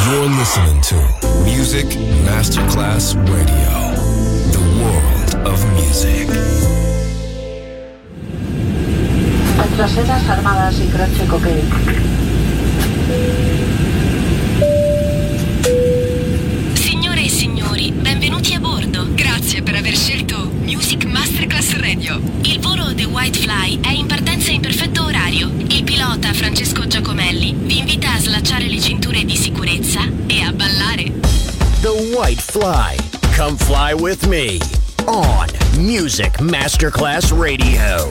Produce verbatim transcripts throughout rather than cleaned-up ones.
You're listening to Music Masterclass Radio, the world of music. Traseras armadas y croce coquet. Signore e signori, benvenuti a bordo. Grazie per aver scelto Music Masterclass Radio. Il volo The White Fly è in partenza in perfetto orario. Il pilota Francesco Giacomelli vi invita a slacciare le cinture di sicurezza e a ballare. The White Fly. Come fly with me on Music Masterclass Radio.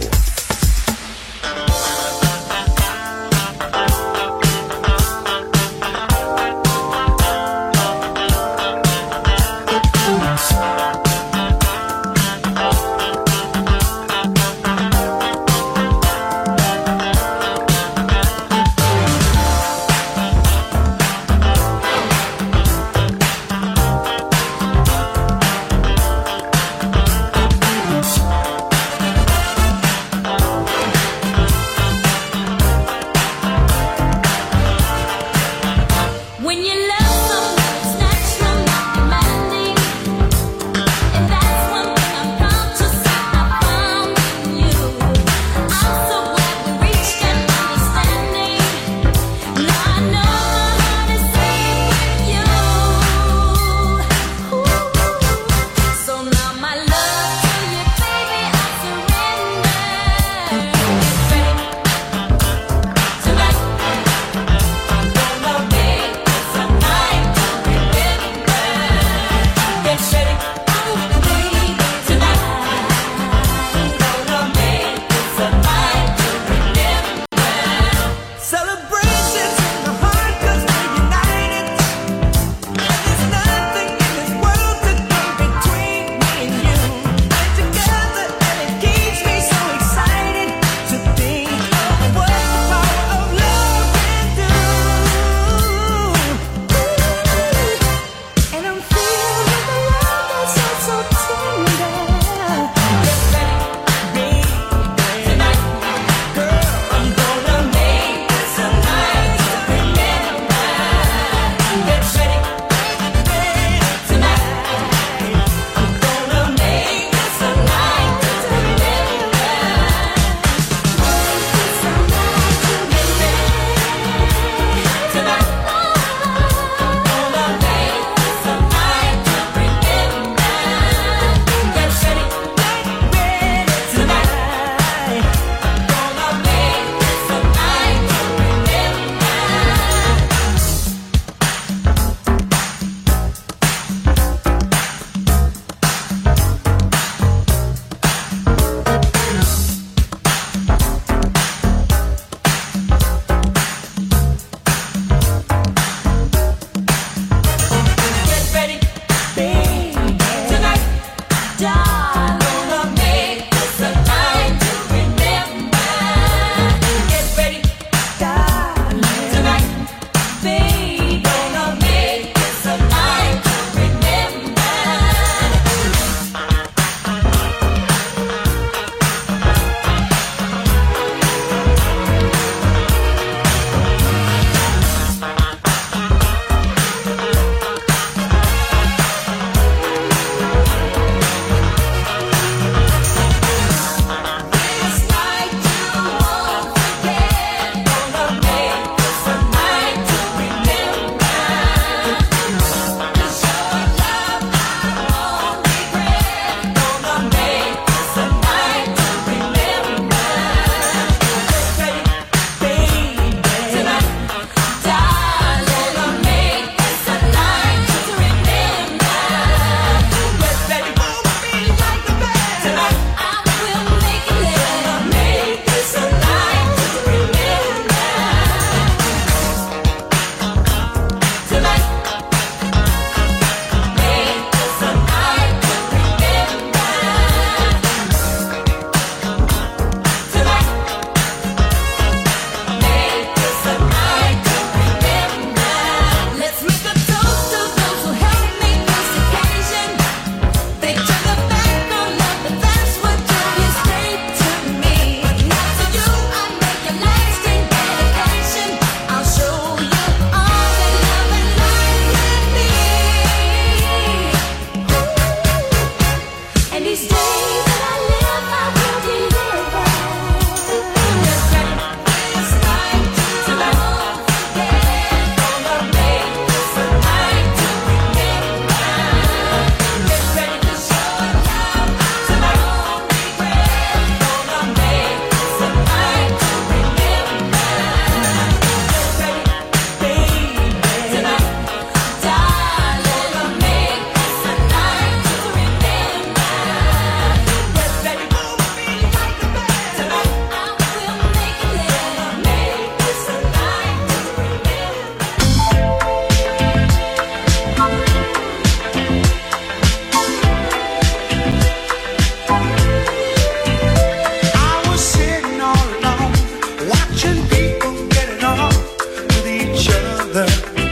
other.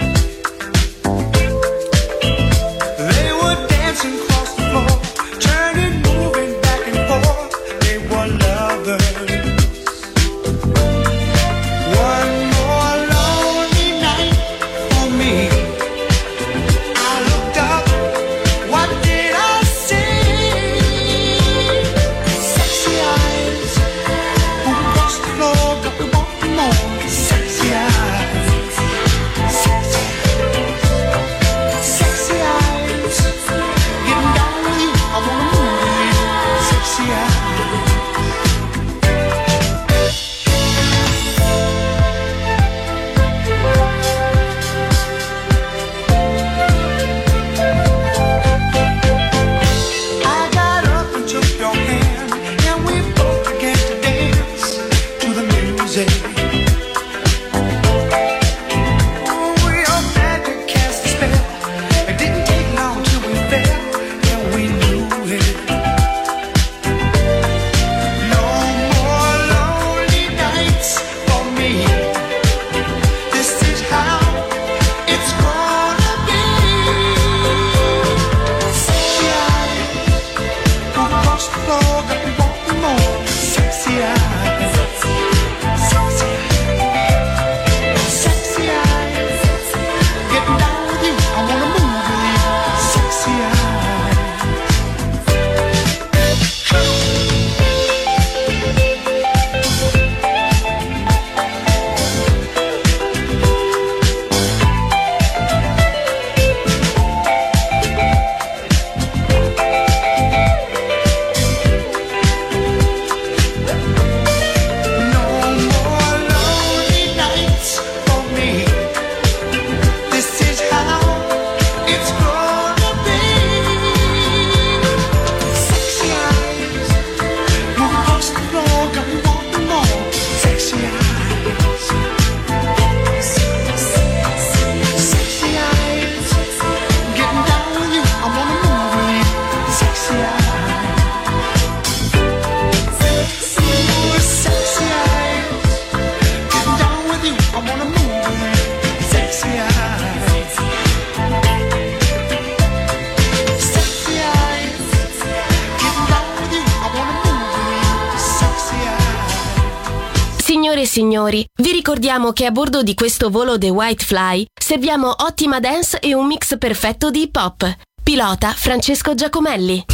They were dancing across the floor, turning, moving back and forth. They were lovers. One more lonely night for me. I looked up, what did I see? Sexy eyes, who across the floor, got me wanting more. Sexy eyes, sexy, sexy eyes, getting down with you, I wanna move with you. Sexy eyes. I got up and took your hand, and we both began to dance to the music. Oh, we all had to cast a spell. It didn't take long till we fell, and we knew it. No more lonely nights for me. This is how it's gonna be. Sexy eyes, move across the floor, got me wanting more. Sexy eyes, sexy, sexy eyes, getting down with you, I wanna move with you. Sexy eyes. No more lonely nights for me. This is how it's gonna be. Sexy eyes, move across the floor, got me wanting more. Sexy eyes, sexy eyes, getting down with you, I wanna move with you. Sexy eyes. Ooh, sexy eyes, getting down with you, I wanna move with you. Sexy eyes, sexy eyes, getting down with you, I wanna move with you. Sexy eyes. Signore e signori, vi ricordiamo che a bordo di questo volo The White Fly serviamo ottima dance e un mix perfetto di hip hop. Pilota Francesco Giacomelli.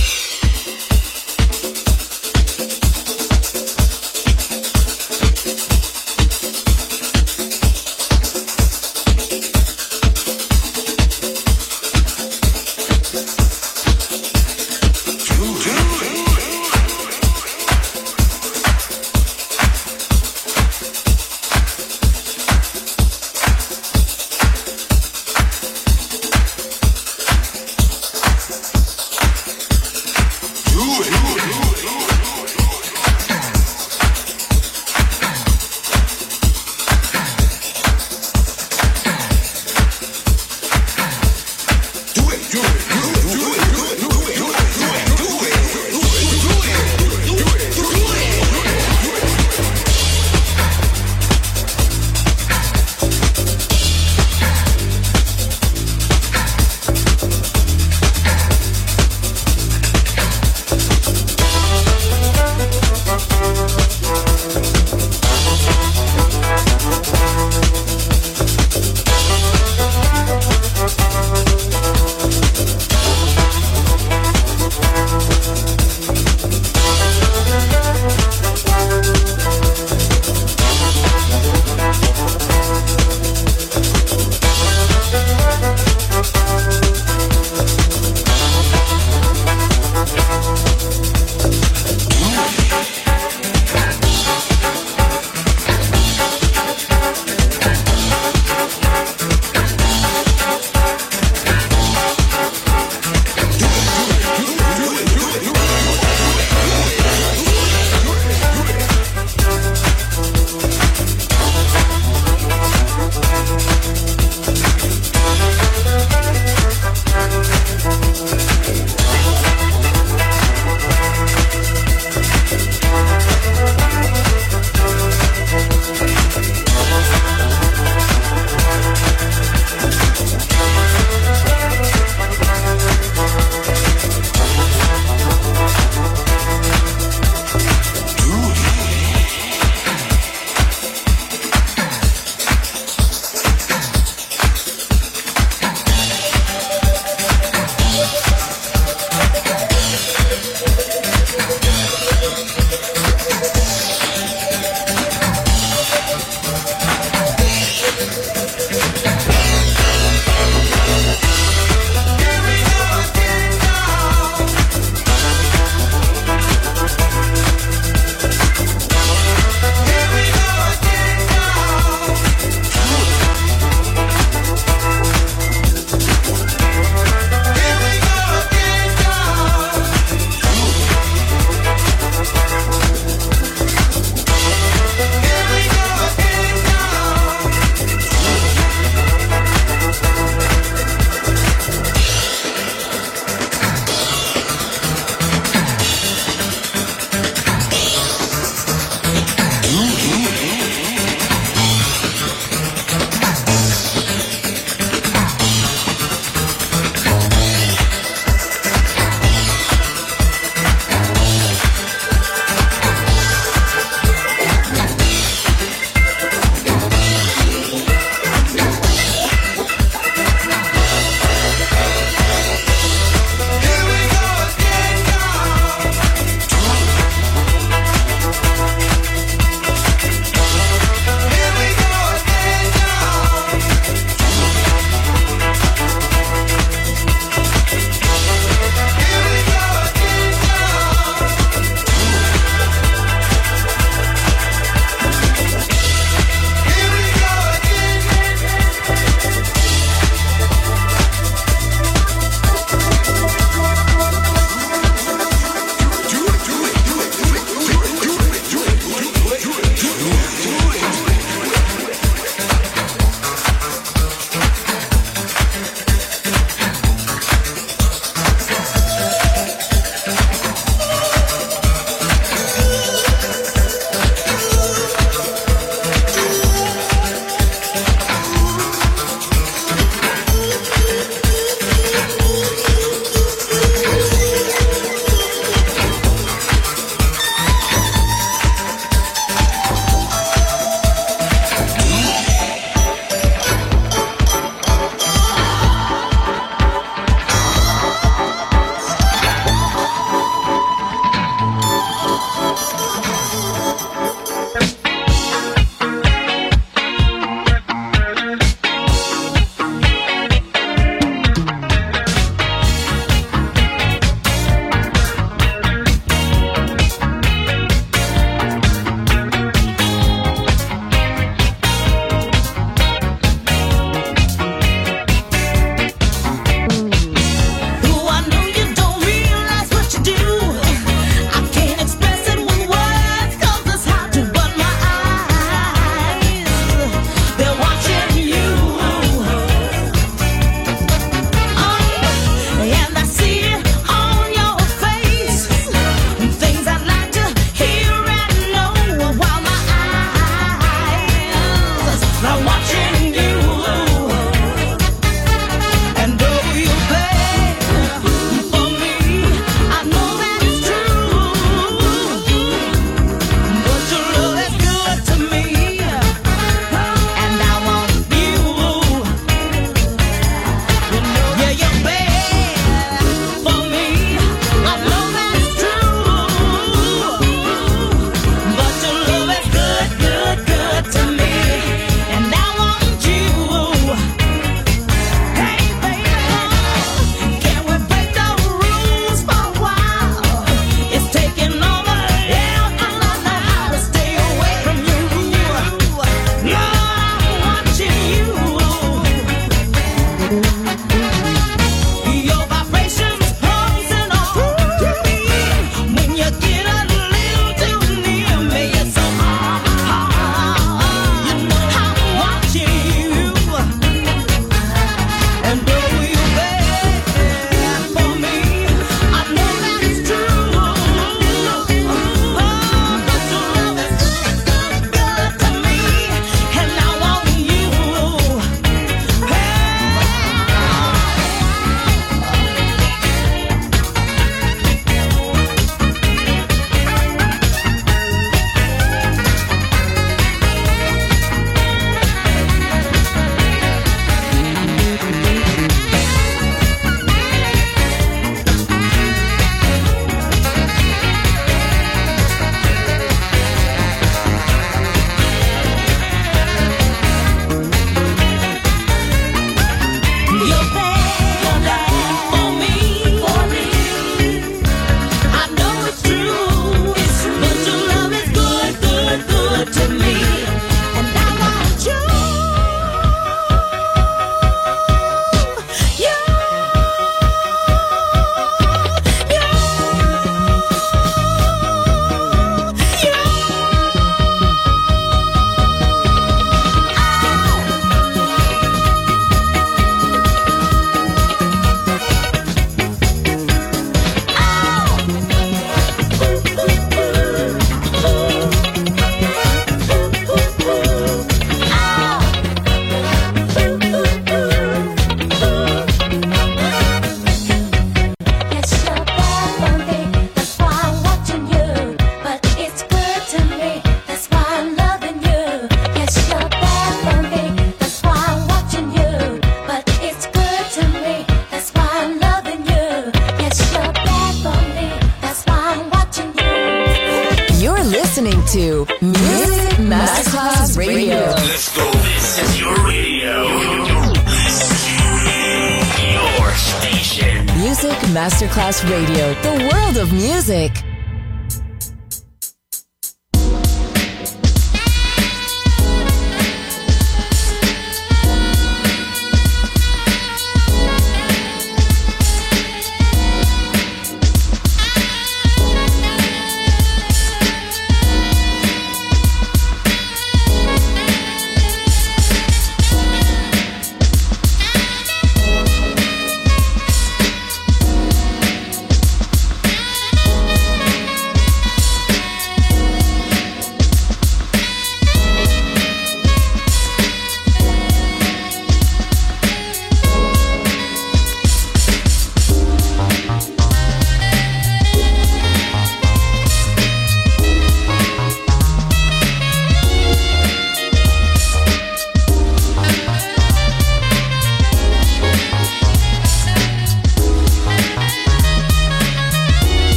Masterclass Radio, the world of music.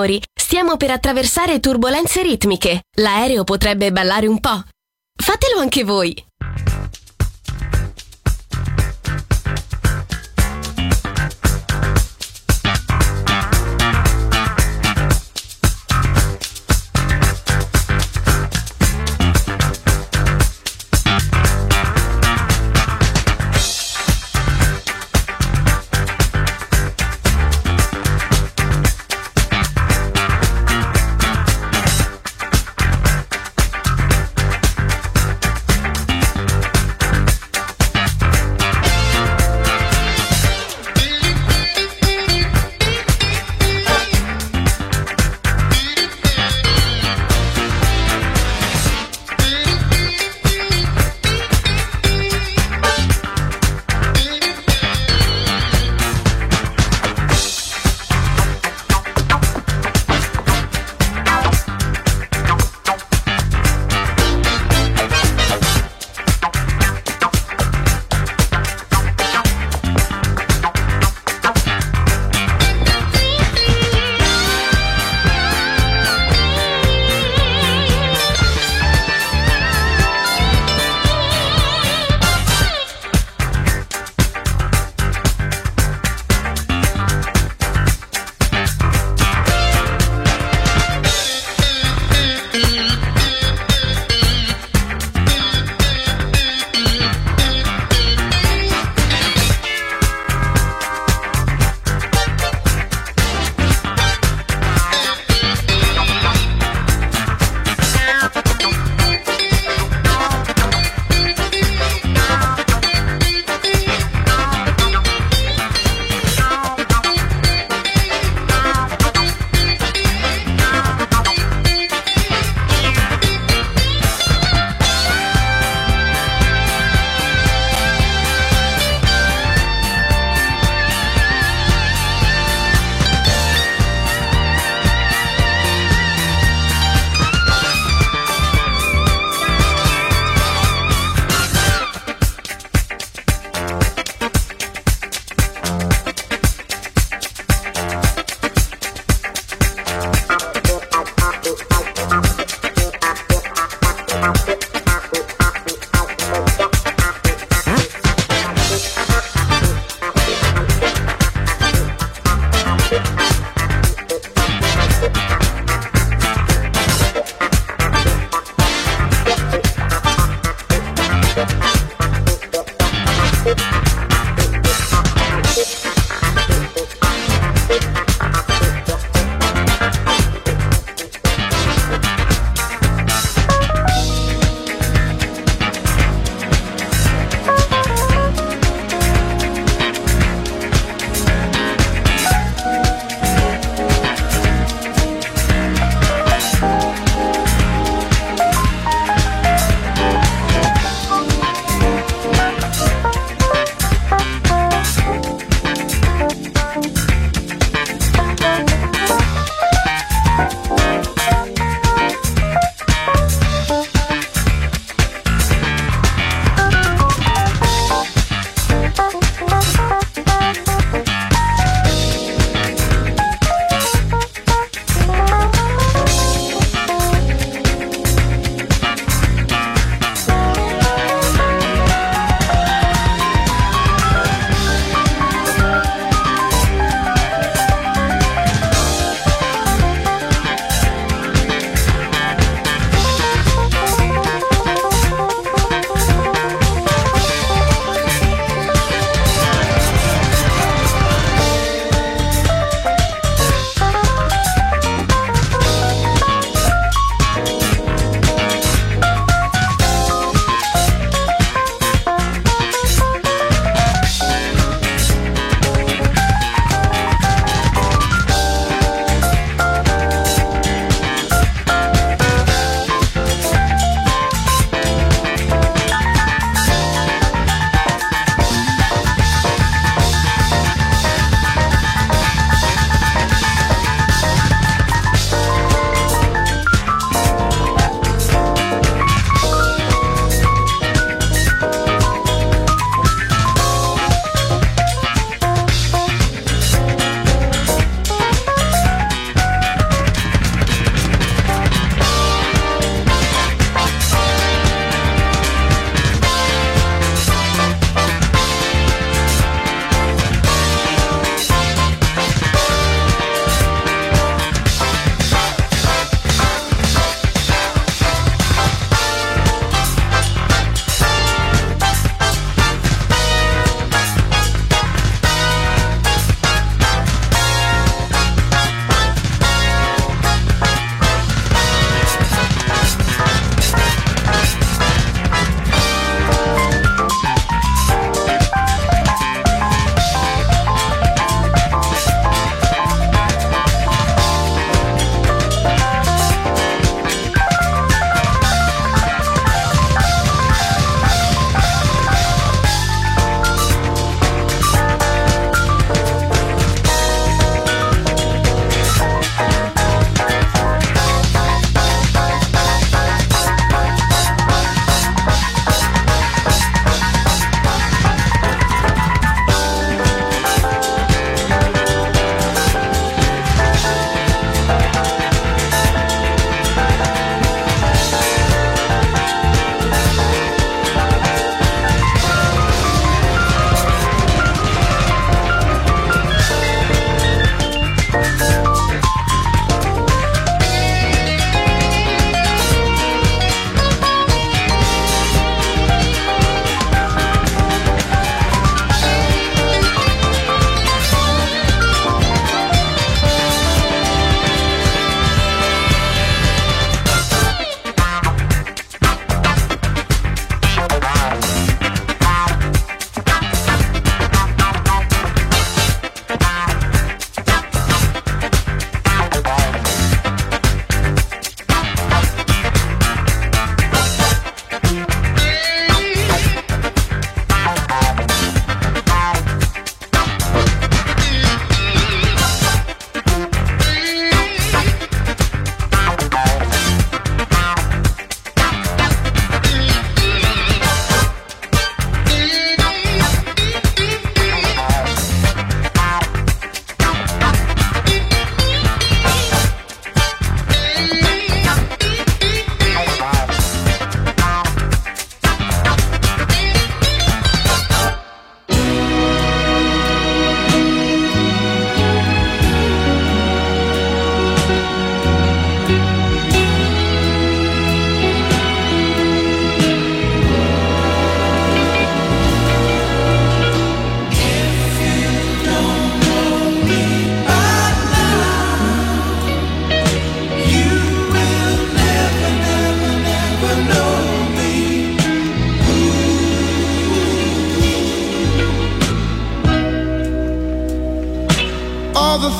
signori, stiamo per attraversare turbolenze ritmiche. L'aereo potrebbe ballare un po'. Fatelo anche voi.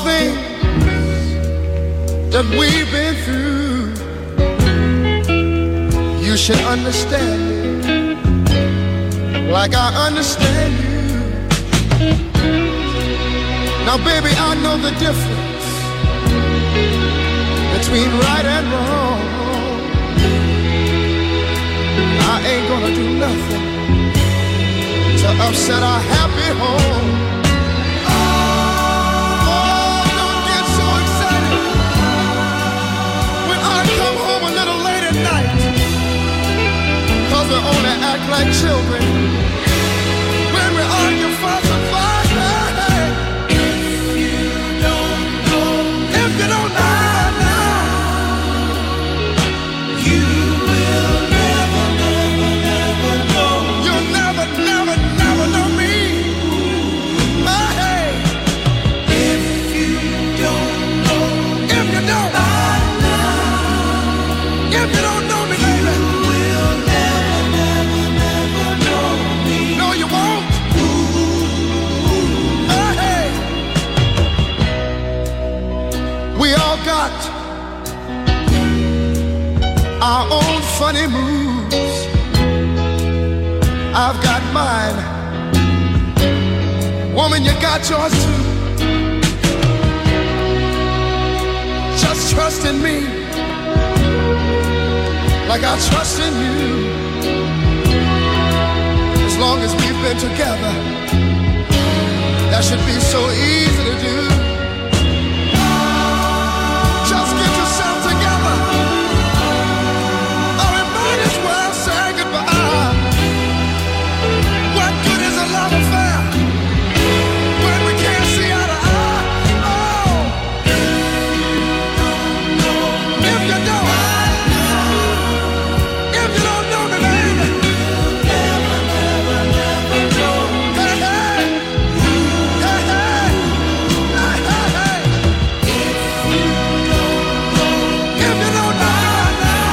things that we've been through, you should understand me like I understand you. Now baby, I know the difference between right and wrong. I ain't gonna do nothing to upset our happy home. Oh, don't get so excited when I come home a little late at night, 'cause we only act like children when we argue, fuss and fight. Hey, if you don't know, if you don't know now, you will never, never, never know. You'll never, never, never know me. Hey, if you don't know, if you don't know, if you don't know me, baby, you will never, never, never know me. No, you won't. Hey, we all got our own funny moves. I've got mine. Woman, you got yours too. Just trust in me like I trust in you. As long as we've been together, that should be so easy to do. Just get yourself together, or we might as well say goodbye. What good is a love affair when we can't see eye to eye? Oh, if you don't, if you don't know me, baby, never, never, never know. Hey, hey, hey, hey, hey, hey, hey. If you don't know now,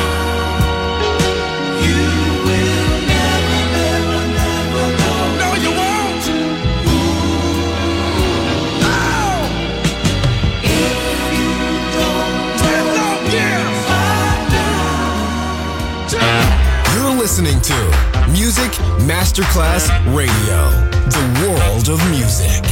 you will never, never, never know. No, you won't. No. If you don't ten long years. You're listening to Music Masterclass Radio, the world of music.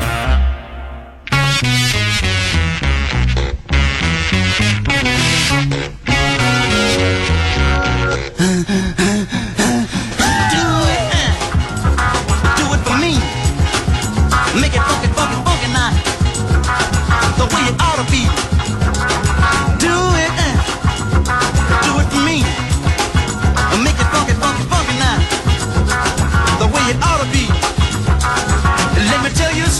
Do it, uh, do it for me. Make it funky, funky, funky now. The way it ought to be. Do it, uh, do it for me. Make it funky, funky, funky now. The way it ought to be. Let me tell you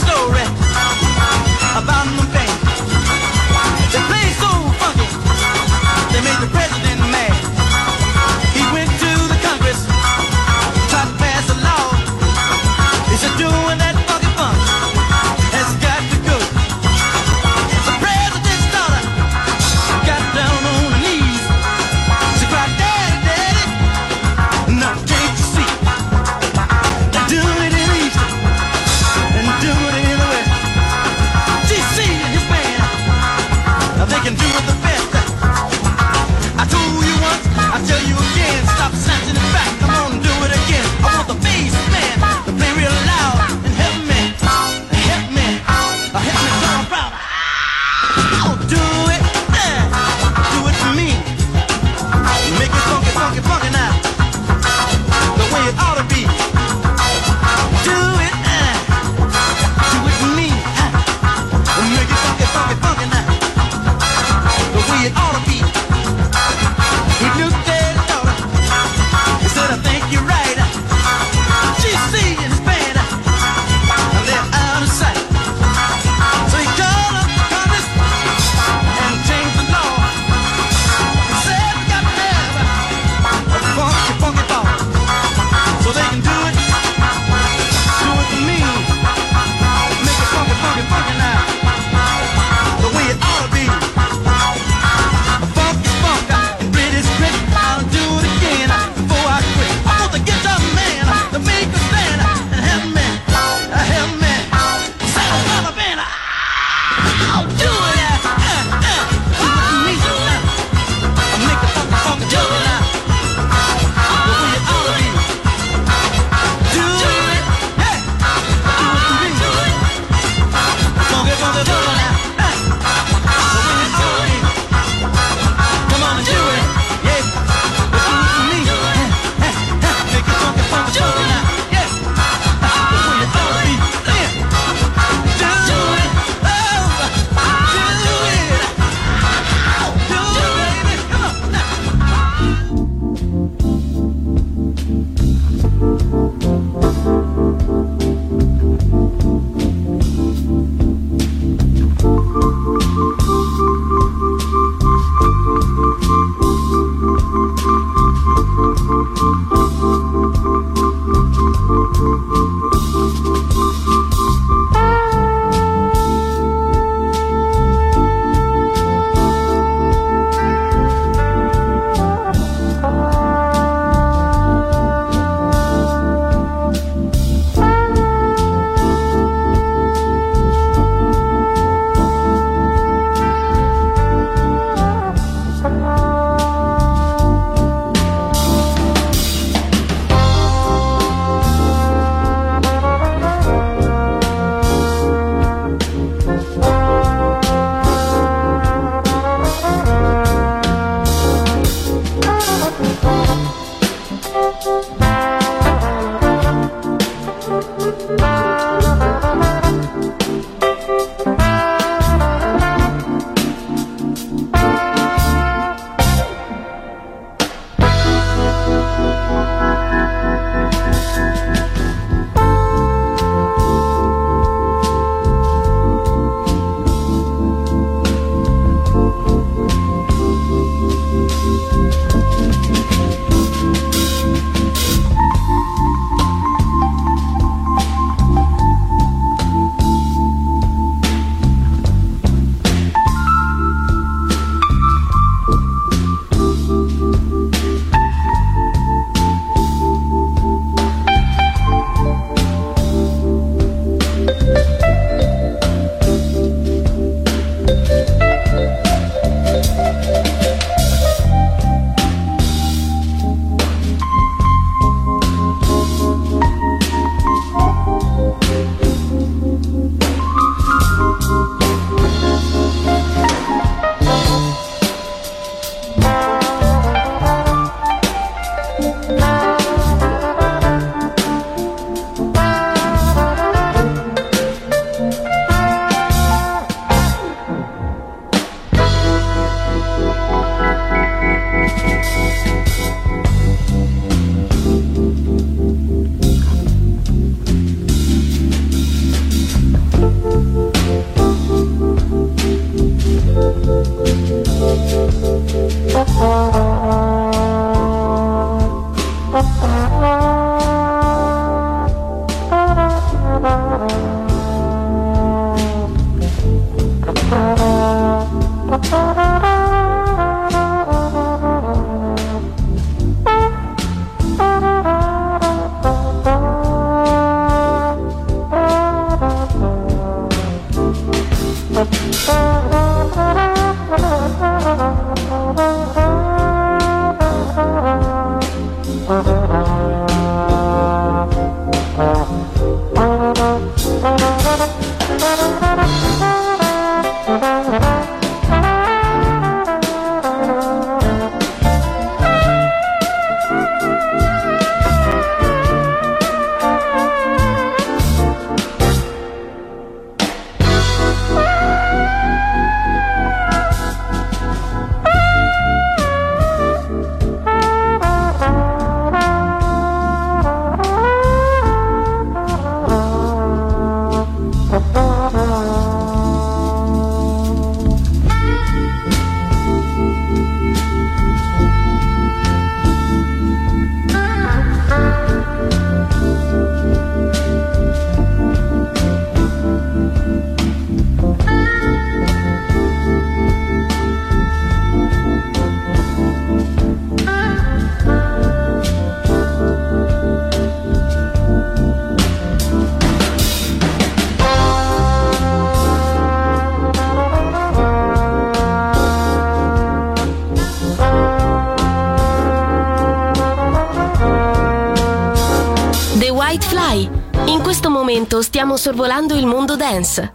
White Fly. In questo momento stiamo sorvolando il mondo dance.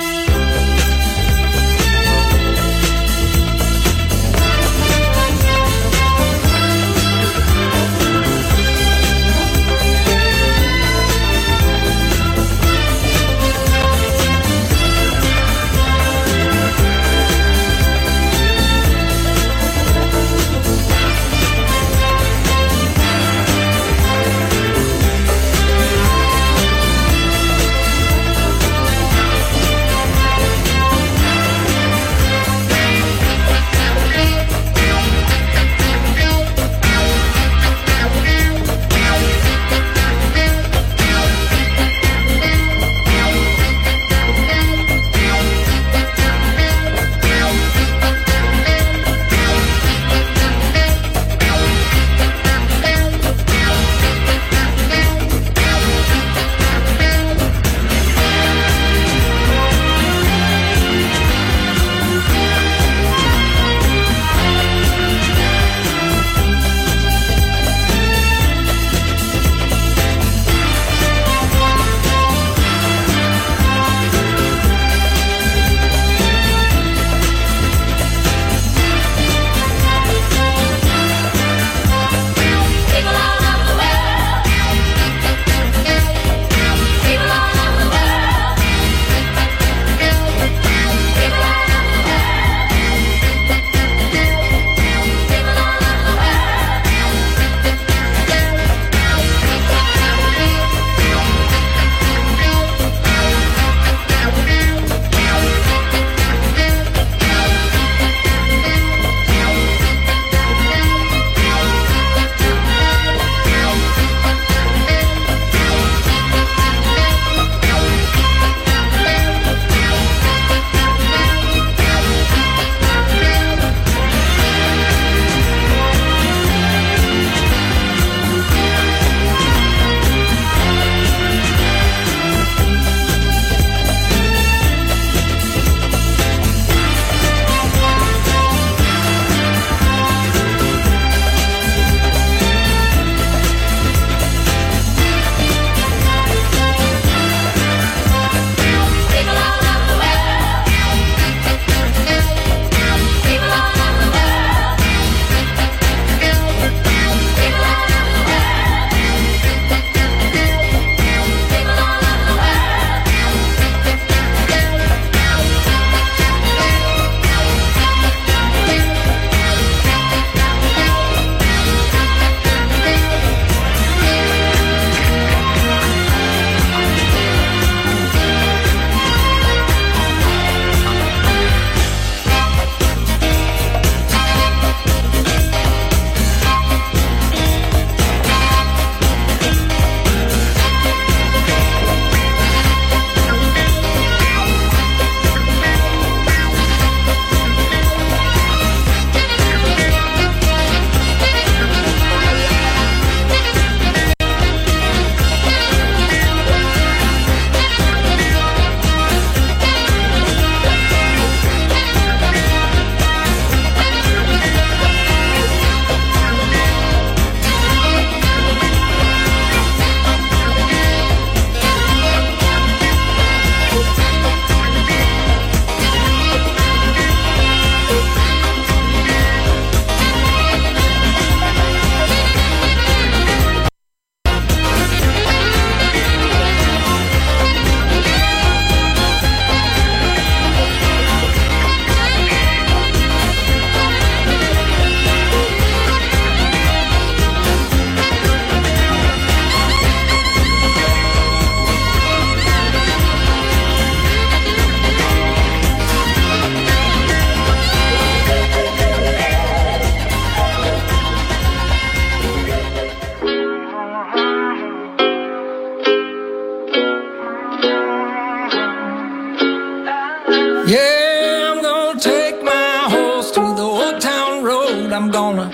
Yeah, I'm gonna take my horse to the old town road. I'm gonna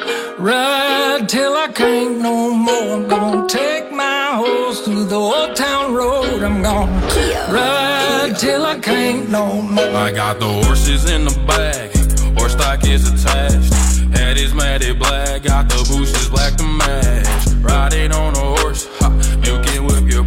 ride till I can't no more. I'm gonna take my horse to the old town road. I'm gonna ride till I can't no more. I got the horses in the bag, horse stock is attached. Head is matted black, got the bushes black to match. Riding on a horse, ha, milk and whip your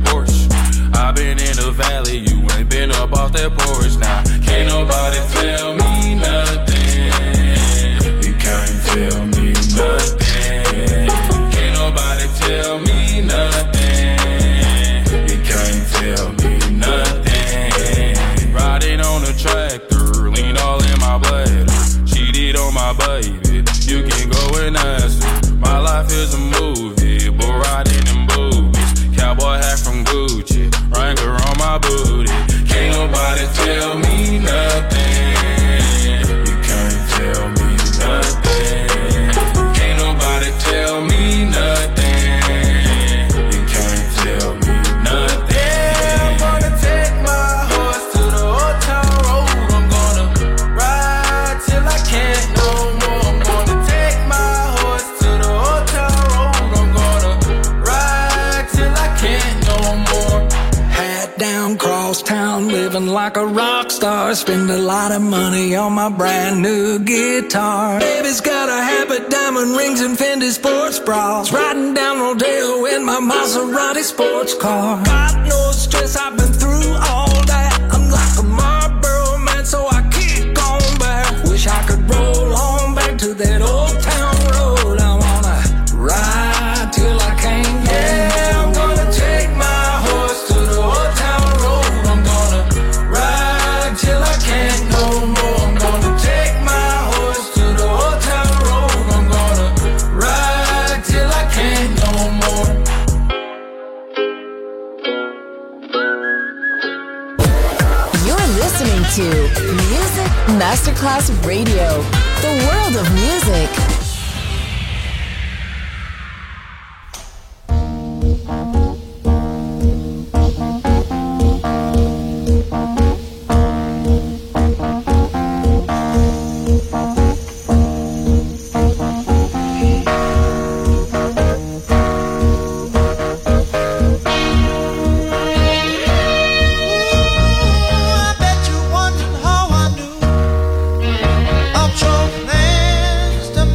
off that porch now. Can't nobody tell me nothing. You can't tell me nothing. Can't nobody tell me nothing. You can't tell me nothing. Riding on a tractor, lean all in my bladder. Cheated on my baby, you can go and ask her. My life is a movie, but riding in boobies. Cowboy hat from Gucci, Wrangler on my booty. Can't nobody tell me nothing. You can't tell me nothing. Can't nobody tell me nothing. You can't tell me nothing. Yeah, I'm gonna take my horse to the old town road. I'm gonna ride till I can't no more. I'm gonna take my horse to the old town road. I'm gonna ride till I can't no more. Hat down, cross town, living like a rock star. Spend a lot of money on my brand new guitar. Baby's got a habit, diamond rings and Fendi sports bras. Riding down Rodeo in my Maserati sports car. Got no stress, I've been through all that. I'm like a Marlboro man, so I kick on back. Wish I could roll on back to that old town road. I wanna ride till I can't go. Yeah, I'm gonna take my horse to the old town road. I'm gonna ride till I can't no more. I'm gonna take my horse to the old town road. I'm gonna ride till I can't no more. You're listening to Music Masterclass Radio, the world of music. I bet you wondered how I knew of trophy lands to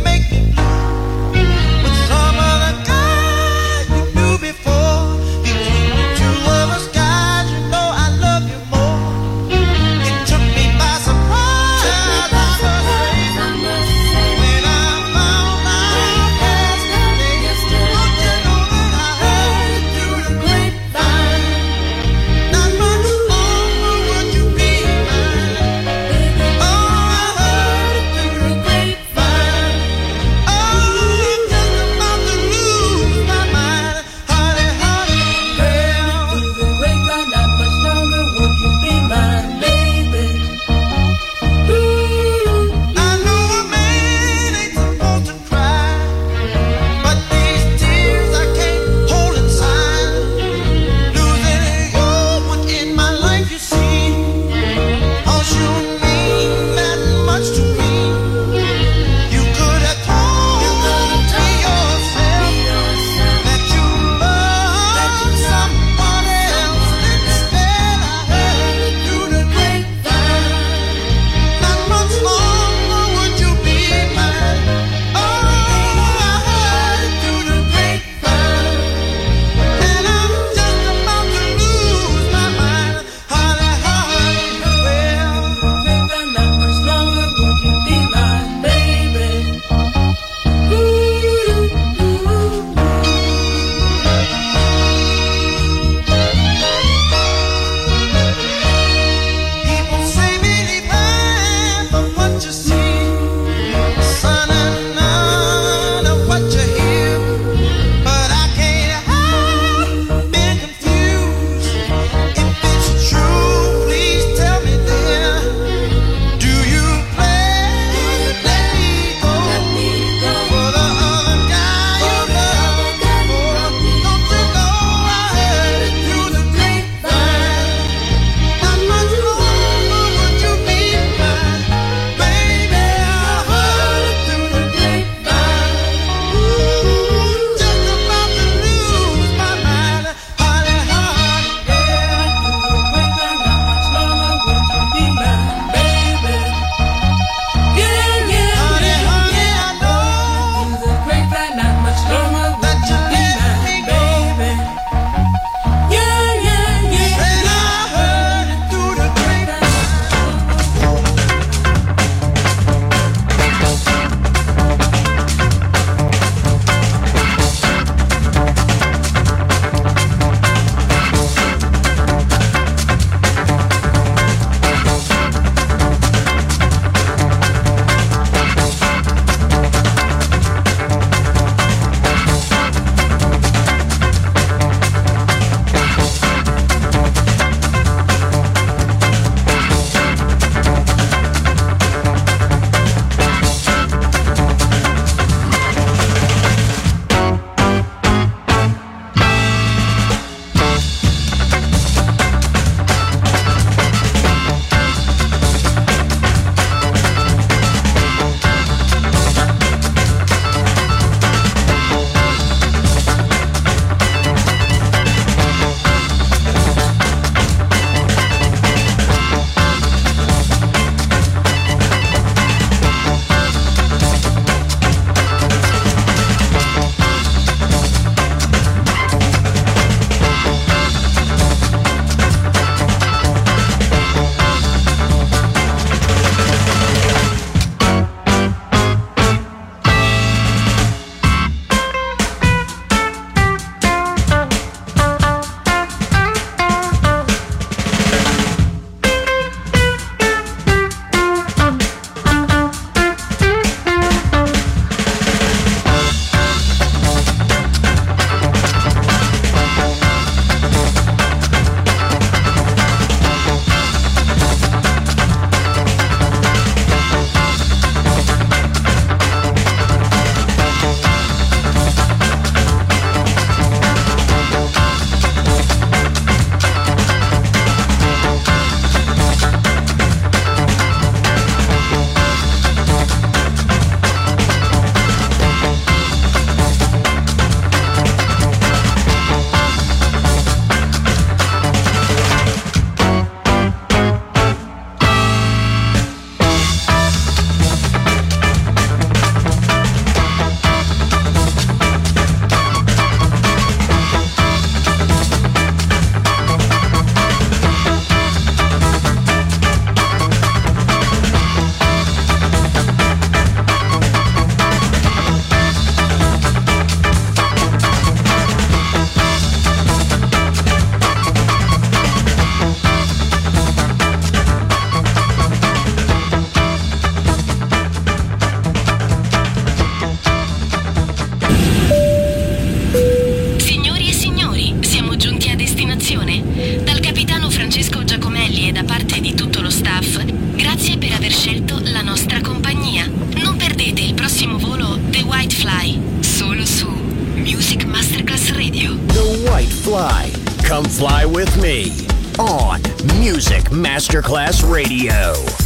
Come fly with me on Music Masterclass Radio.